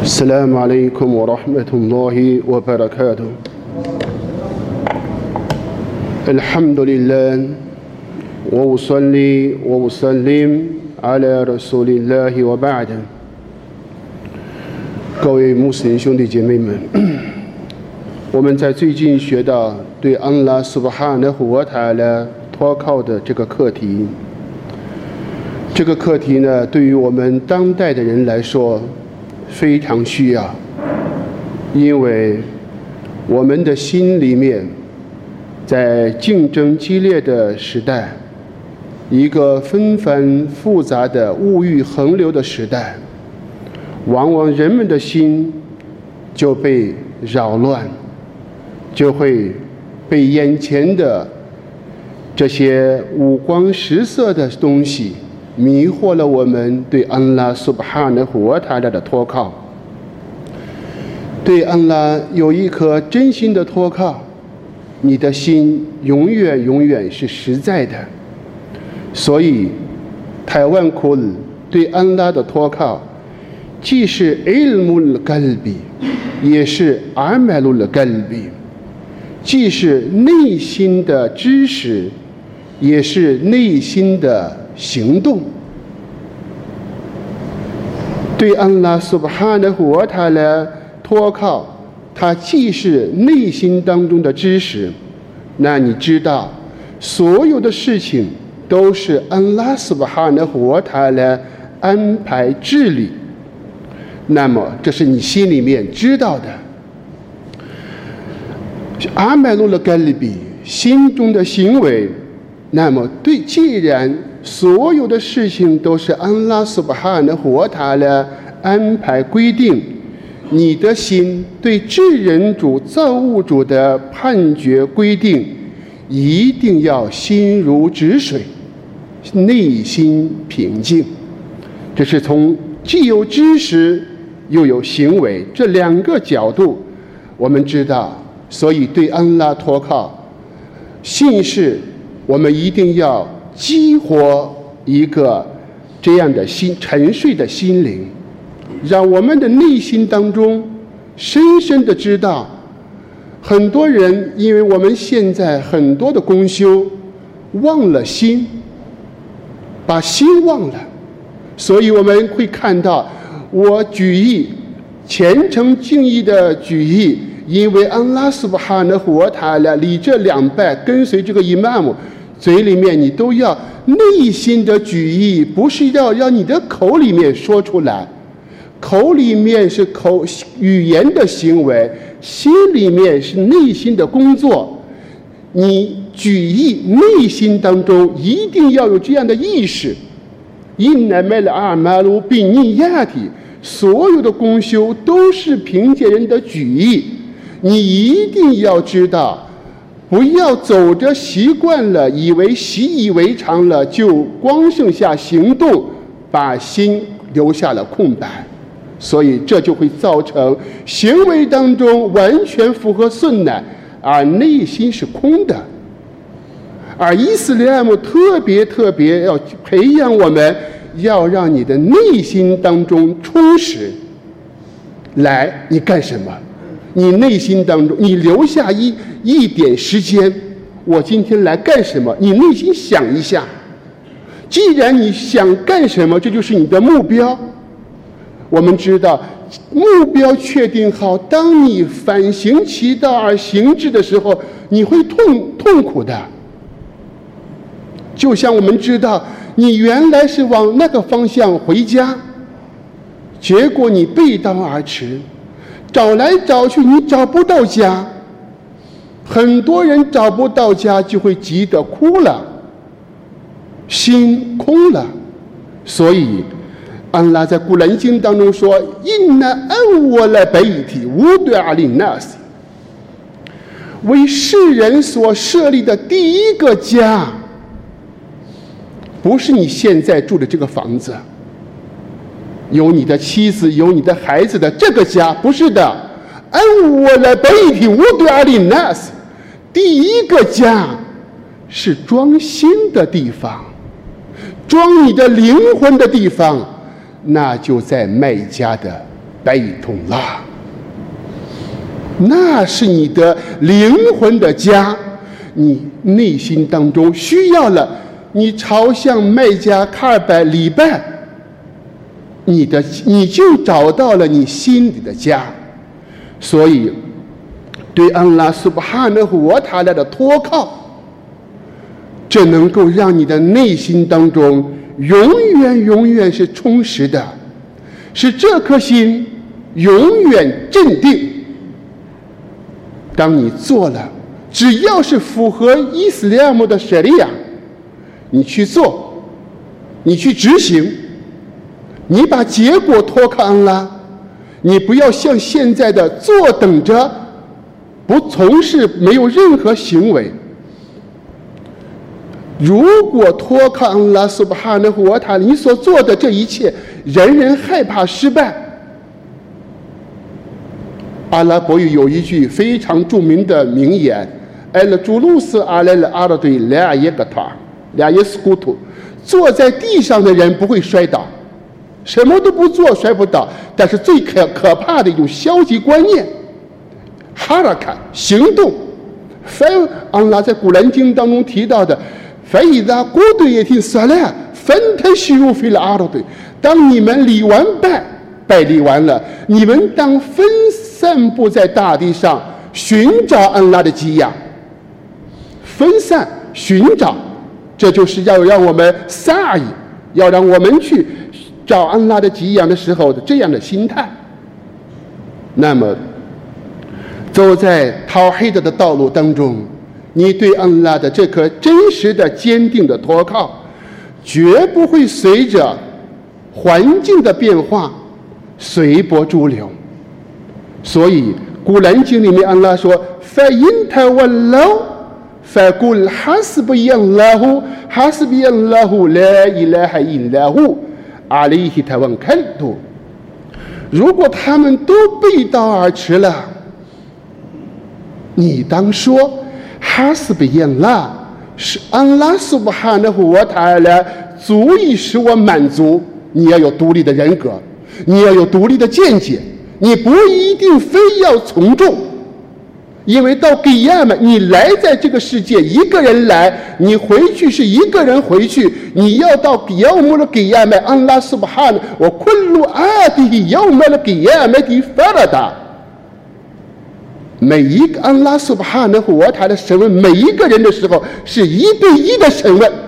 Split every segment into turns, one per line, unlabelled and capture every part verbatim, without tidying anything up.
السلام عليكم ورحمة الله وبركاته. الحمد لله وأصلي وأسلم على رسول الله وبعد。各位穆斯林兄弟姐妹们，我们在最近学到对安拉苏巴哈纳胡瓦塔拉托靠的这个课题。这个课题呢，对于我们当代的人来说非常需要，因为我们的心里面在竞争激烈的时代，一个纷繁复杂的物欲横流的时代，往往人们的心就被扰乱，就会被眼前的这些五光十色的东西迷惑了我们对安拉苏巴哈纳胡瓦塔拉的托靠。对安拉有一颗真心的托靠，你的心永远永远是实在的。所以台湾库尔对安拉的托靠既是 ilmul qalbi 也是 amalul qalbi， 既是内心的知识也是内心的行动。对安拉苏巴哈纳胡瓦塔拉托靠，它既是内心当中的知识，那你知道所有的事情都是安拉苏巴哈纳胡瓦塔拉安排治理，那么这是你心里面知道的。阿麦鲁勒盖利比心中的行为，那么对，既然所有的事情都是安拉苏巴哈纳胡瓦塔拉安排规定，你的心对至人主造物主的判决规定一定要心如止水，内心平静。这是从既有知识又有行为这两个角度我们知道。所以对安拉托靠信是我们一定要激活一个这样的心沉睡的心灵，让我们的内心当中深深的知道，很多人因为我们现在很多的公修忘了心，把心忘了，所以我们会看到我举义虔诚敬意的举义，因为安拉苏巴哈纳胡瓦塔拉礼这两拜跟随这个伊玛目，嘴里面你都要内心的举义，不是要让你的口里面说出来，口里面是口语言的行为，心里面是内心的工作。你举义内心当中一定要有这样的意识，因乃麦了阿马鲁比尼亚体，所有的功修都是凭借人的举义。你一定要知道，不要走着习惯了，以为习以为常了，就光剩下行动，把心留下了空白。所以这就会造成行为当中完全符合顺乃，而内心是空的。而伊斯兰姆特别特别要培养我们，要让你的内心当中充实。来，你干什么？你内心当中，你留下一一点时间，我今天来干什么？你内心想一下。既然你想干什么，这就是你的目标。我们知道，目标确定好，当你反行其道而行之的时候，你会痛痛苦的。就像我们知道，你原来是往那个方向回家，结果你背道而驰，找来找去你找不到家，很多人找不到家就会急得哭了，心空了。所以安拉在古兰经当中说，因那安我来贝体无对阿林纳斯，为世人所设立的第一个家，不是你现在住的这个房子，有你的妻子有你的孩子的这个家，不是的。安我来贝体无对阿林纳斯，第一个家是装心的地方，装你的灵魂的地方，那就在麦加的贝通拉，那是你的灵魂的家，你内心当中需要了，你朝向麦加卡尔拜礼拜，你的你就找到了你心里的家。所以对安拉苏巴哈纳胡瓦塔拉的托靠，这能够让你的内心当中永远永远是充实的，使这颗心永远镇定。当你做了，只要是符合伊斯兰姆的舍利亚，你去做，你去执行，你把结果托靠安拉，你不要像现在的坐等着，不从事，没有任何行为。如果托靠安拉苏巴哈纳胡瓦塔，你所做的这一切，人人害怕失败。阿拉伯语有一句非常著名的名言：“艾勒朱鲁斯阿莱勒阿拉对俩耶格塔，俩耶斯古图。”坐在地上的人不会摔倒，什么都不做摔不倒，但是最可可怕的一种消极观念，哈拉卡行动。反安拉在古兰经当中提到的。فإذا قضيت الصلاة فانتشروا في الأرض，当你们礼完拜，拜礼完了，你们当分散布在大地上，寻找安拉的给养。分散寻找，这就是要让我们撒意，要让我们去找安拉的给养的时候的这样的心态。那么，走在陶黑的的道路当中，你对安拉的这颗真实的坚定的托靠，绝不会随着环境的变化随波逐流。所以古兰经里面安拉说 فَإِنْ تَوَلَّوْا فَقُلْ حَسْبِيَ اللَّهُ حَسْبِيَ اللَّهُ لَا إِلَهَ إِلَّا هُوَ عَلَيْهِ تَوَكَّلْتُ。如果他们都背道而驰了，你当说哈斯比耶拉是安拉苏巴哈纳胡瓦塔拉足以使我满足。你要有独立的人格，你要有独立的见解，你不一定非要从众，因为到给亚们，你来在这个世界一个人来，你回去是一个人回去，你要到给亚姆的给亚们，安拉苏巴哈纳我昆路阿迪亚姆的给亚们的法拉达。每一个安拉苏巴哈纳胡瓦塔的审问每一个人的时候，是一对一的审问。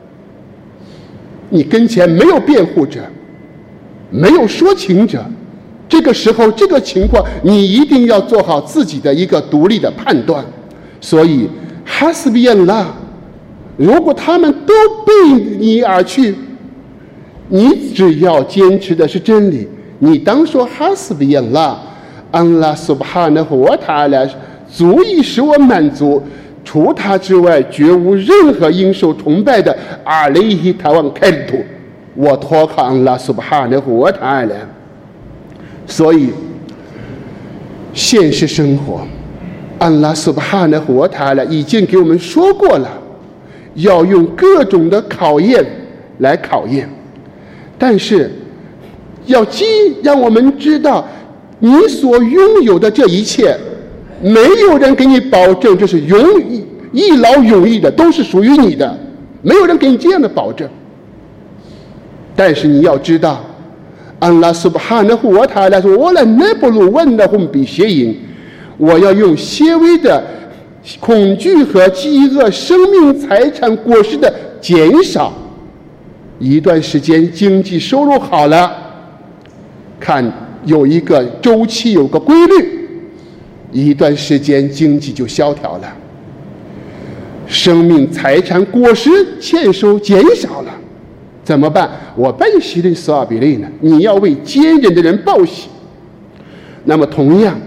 你跟前没有辩护者，没有说情者，这个时候这个情况，你一定要做好自己的一个独立的判断。所以哈斯比安拉，如果他们都背你而去，你只要坚持的是真理，你当说哈斯比安拉。安拉苏巴哈纳胡瓦塔拉足以使我满足，除他之外绝无任何应受崇拜的。阿雷希塔万开土，我托靠安拉苏巴哈纳胡瓦塔拉。所以现实生活，安拉苏巴哈纳胡瓦塔拉已经给我们说过了，要用各种的考验来考验，但是要记让我们知道。你所拥有的这一切，没有人给你保证这是永一劳永逸的，都是属于你的，没有人给你这样的保证。但是你要知道，安拉苏巴哈纳胡瓦塔拉说：“我来奈布鲁问的红比邪淫，我要用些微的恐惧和饥饿、生命、财产、果实的减少，一段时间经济收入好了，看。”有一个周期，有个规律，一段时间经济就萧条了，生命、财产、果实欠收减少了，怎么办？我拜喜的索尔比类呢？你要为坚忍的人报喜。那么同样，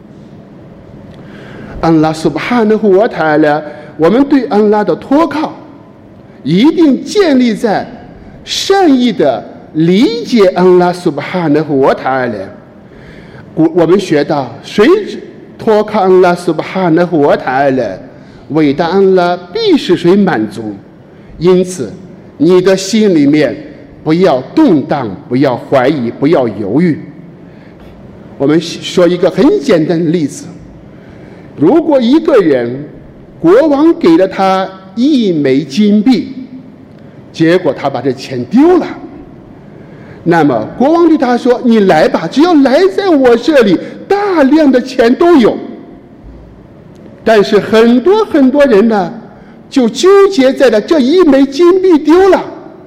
安拉苏巴哈纳胡瓦塔拉，我们对安拉的托靠，一定建立在善意的。理解安拉苏巴哈纳胡瓦塔拉，我们学到，谁托靠安拉苏巴哈纳胡瓦塔拉，伟大安拉必使谁满足。因此，你的心里面不要动荡，不要怀疑，不要犹豫。 我们说一个很简单的例子，如果一个人国王给了他一枚金币，结果他把这钱丢了，那么国王对他说，你来吧，只要来在我这里，大量的钱都有。但是很多很多人呢，就纠结在了这一枚金币丢了，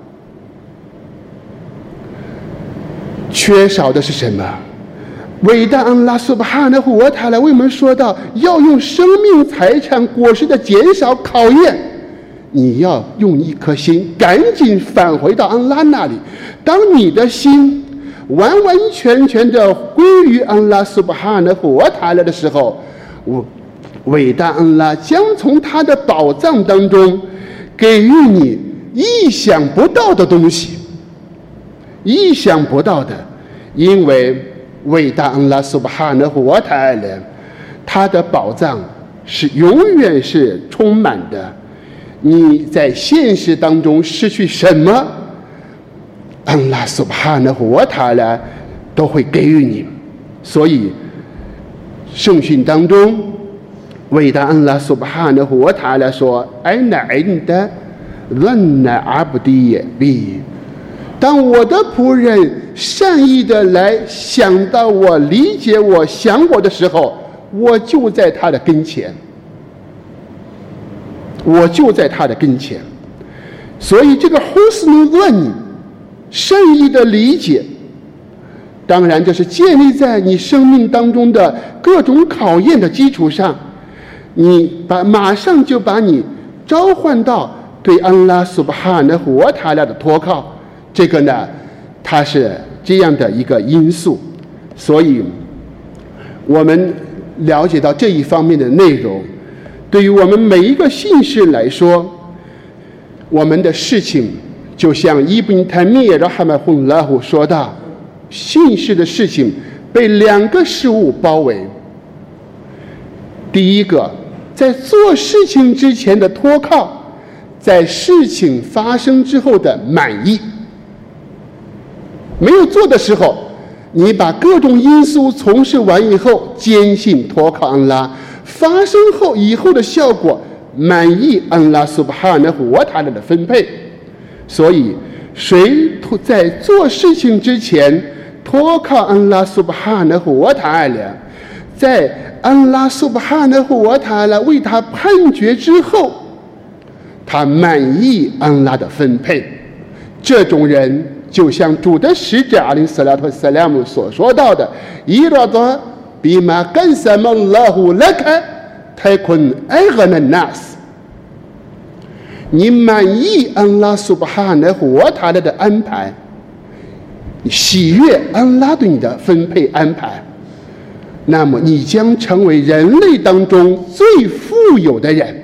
缺少的是什么？伟大安拉苏巴哈纳胡瓦塔拉为我们说到，要用生命财产果实的减少考验，你要用一颗心赶紧返回到安拉那里。当你的心完完全全的归于安拉苏巴哈纳胡瓦塔拉的时候，我伟大安拉将从他的宝藏当中给予你意想不到的东西，意想不到的，因为伟大安拉苏巴哈纳胡瓦塔拉他的宝藏是永远是充满的。你在现实当中失去什么，安拉苏巴哈纳胡瓦塔拉都会给予你。所以圣训当中伟大安拉苏巴哈纳胡瓦塔拉说，艾那印的论那阿布迪比，当我的仆人善意的来想到我、理解我、想我的时候，我就在他的跟前，我就在他的跟前。所以这个胡斯努论善意的理解，当然这是建立在你生命当中的各种考验的基础上，你把马上就把你召唤到对安拉苏巴哈纳胡瓦塔拉的托靠。这个呢，它是这样的一个因素。所以我们了解到这一方面的内容，对于我们每一个信士来说，我们的事情就像伊布尼泰米尔哈马洪拉胡说到，信士的事情被两个事物包围。第一个，在做事情之前的托靠，在事情发生之后的满意。没有做的时候，你把各种因素从事完以后，坚信托靠安拉，发生后以后的效果满意安拉苏巴哈纳胡瓦塔拉的分配。所以谁在做事情之前托靠安拉苏巴哈纳胡瓦塔拉，在安拉苏巴哈纳胡瓦塔拉为他判决之后，他满意安拉的分配，这种人就像主的使者阿里斯拉特萨拉姆所说到的，伊拉多比马干萨曼拉胡拉克泰坤埃格纳纳斯。你满意安拉苏巴哈纳胡瓦塔拉的安排，你喜悦安拉对你的分配安排，那么你将成为人类当中最富有的人。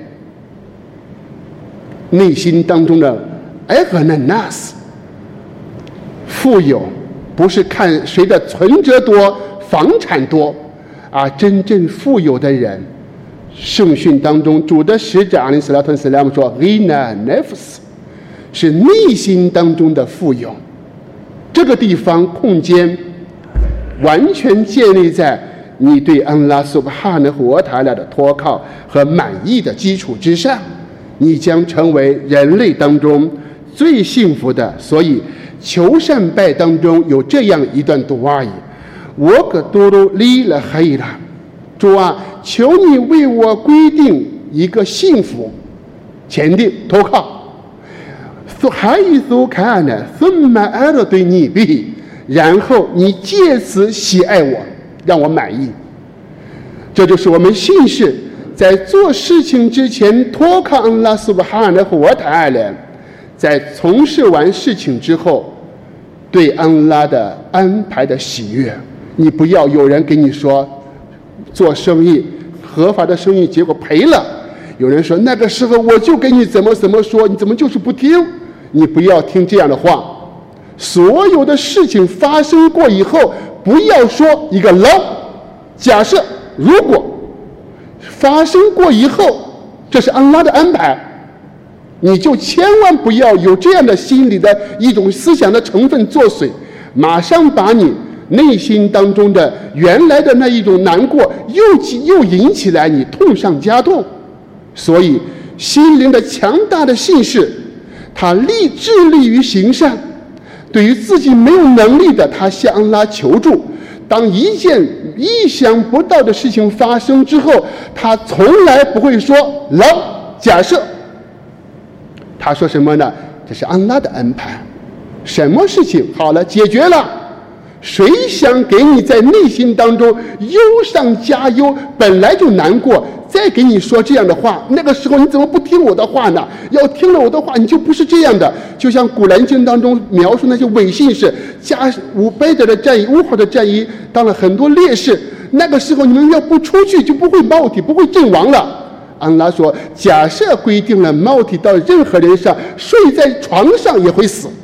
内心当中的埃格纳纳斯，富有不是看谁的存折多、房产多啊，真正富有的人，圣训当中主的使者阿里斯拉特斯拉姆说 Ghina Nefs 是内心当中的富有。这个地方空间完全建立在你对安拉苏巴哈纳胡瓦塔拉的托靠和满意的基础之上，你将成为人类当中最幸福的。所以求善拜当中有这样一段杜阿语，我可多罗利了黑了，主啊，求你为我规定一个幸福前定投靠，还一组看呢，分满爱了对你比，然后你借此喜爱我，让我满意。这就是我们信士在做事情之前托靠安拉苏巴哈纳胡瓦塔拉，在从事完事情之后对安拉的安排的喜悦。你不要有人给你说做生意合法的生意结果赔了，有人说那个时候我就给你怎么怎么说，你怎么就是不听？你不要听这样的话。所有的事情发生过以后，不要说一个牢，假设如果发生过以后这是安拉的安排，你就千万不要有这样的心理的一种思想的成分作祟，马上把你内心当中的原来的那一种难过又又引起来你痛上加痛。所以心灵的强大的信士，他立致力于行善，对于自己没有能力的，他向安拉求助。当一件意想不到的事情发生之后，他从来不会说老假设，他说什么呢？这是安拉的安排，什么事情好了解决了，谁想给你在内心当中忧上加忧，本来就难过，再给你说这样的话，那个时候你怎么不听我的话呢？要听了我的话，你就不是这样的。就像古兰经当中描述那些伪信士，加五贝德的战役、乌合的战役当了很多烈士，那个时候你们要不出去，就不会冒体，不会阵亡了。安拉说，假设规定了冒体到任何人上，睡在床上也会死。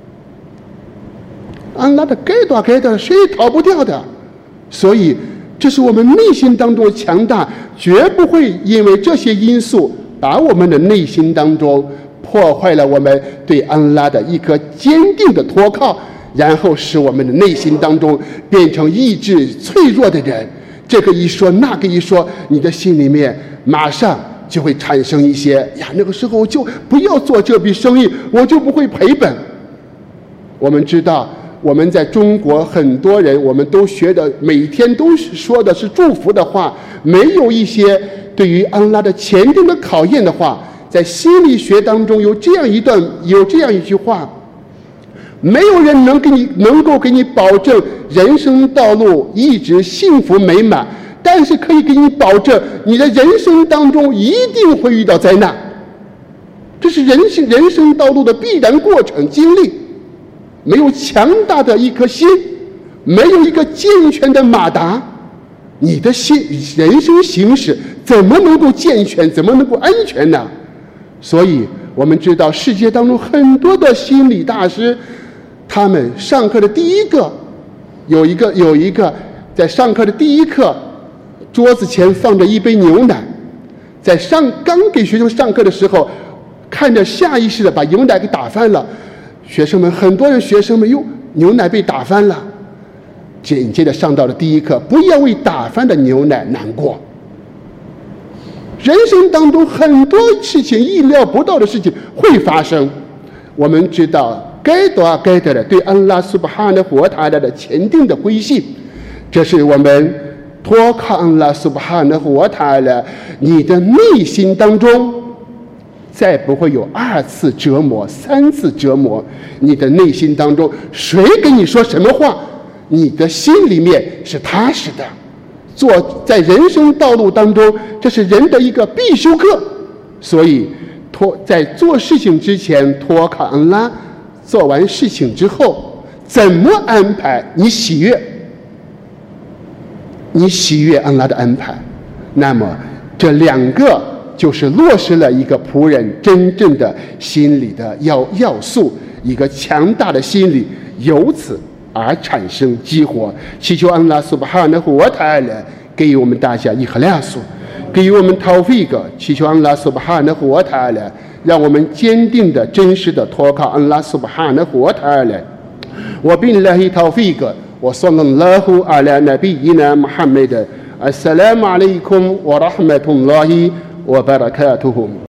安拉的该多该多，谁也逃不掉的。所以这是我们内心当中强大，绝不会因为这些因素把我们的内心当中破坏了我们对安拉的一颗坚定的托靠，然后使我们的内心当中变成意志脆弱的人。这个一说那个一说，你的心里面马上就会产生一些呀，那个时候我就不要做这笔生意，我就不会赔本。我们知道我们在中国很多人，我们都学的每天都说的是祝福的话，没有一些对于安拉的前定的考验的话。在心理学当中有这样一段有这样一句话，没有人能给你能够给你保证人生道路一直幸福美满，但是可以给你保证你的人生当中一定会遇到灾难，这是人生人生道路的必然过程经历。没有强大的一颗心，没有一个健全的马达，你的心人生行驶怎么能够健全，怎么能够安全呢？所以我们知道世界当中很多的心理大师，他们上课的第一个有一个有一个在上课的第一课，桌子前放着一杯牛奶，在上刚给学生上课的时候，看着下意识的把牛奶给打翻了。学生们很多人学生们哟，牛奶被打翻了。紧接着上到了第一课，不要为打翻的牛奶难过。人生当中很多事情意料不到的事情会发生，我们知道该多该得的对安拉苏巴哈纳胡塔拉的前定的归信，这是我们托靠安拉苏巴哈纳胡塔拉，你的内心当中再不会有二次折磨、三次折磨。你的内心当中，谁跟你说什么话，你的心里面是踏实的。做在人生道路当中，这是人的一个必修课。所以，托在做事情之前托靠安拉，做完事情之后，怎么安排你喜悦？你喜悦安拉的安排，那么这两个就是落实了一个仆人真正的心理的要要素，一个强大的心理，由此而产生激活。祈求安拉苏巴哈纳胡瓦塔拉给予我们大家伊赫拉苏，给予我们陶菲格。祈求安拉苏巴哈纳胡瓦塔拉让我们坚定的真实的托靠安拉苏巴哈纳胡瓦塔拉。我宾拉希陶菲格，我صلى الله على نبينا محمد. السلام عليكم ورحمة الله وبركاته.